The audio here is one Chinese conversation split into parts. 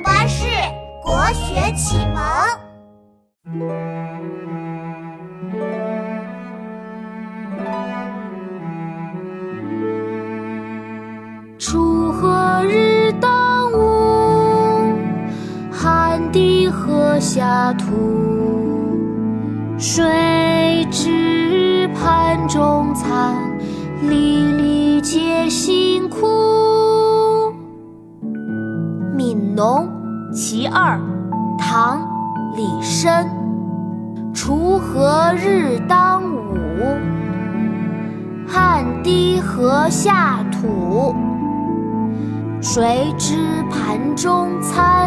巴士国学启蒙。 锄禾日当午，汗滴禾下土。谁知盘中餐，粒粒皆辛苦。《悯农·其二》唐·李绅。锄禾日当午，汗滴禾下土。谁知盘中餐，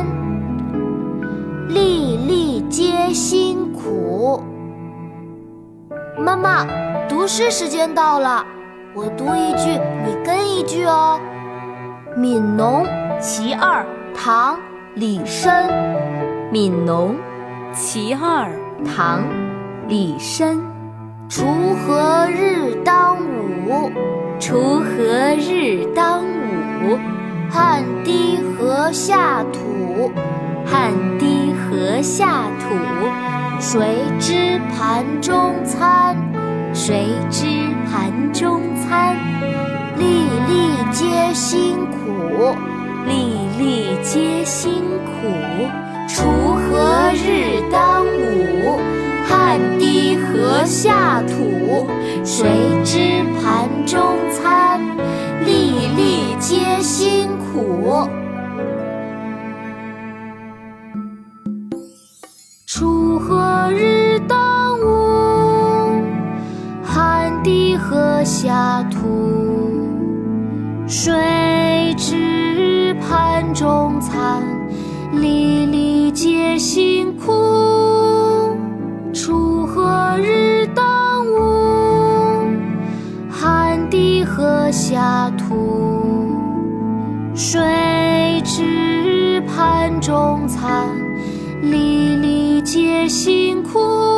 粒粒皆辛苦。妈妈，读诗时间到了，我读一句，你跟一句哦。《悯农·其二》唐·李绅。 《悯农·其二》唐·李绅。 锄禾日当午， 锄禾日当午， 汗滴禾下土。 汗滴禾下土。 谁知盘中餐， 谁知盘中餐， 粒粒皆辛苦。 粒粒皆辛苦。 锄禾日当午，汗滴禾下土。谁知盘中餐，粒粒皆辛苦。锄禾日当午，汗滴禾下土。谁知盘中餐，粒粒皆辛苦。锄禾日当午，汗滴禾下土。谁知盘中餐，粒粒皆辛苦。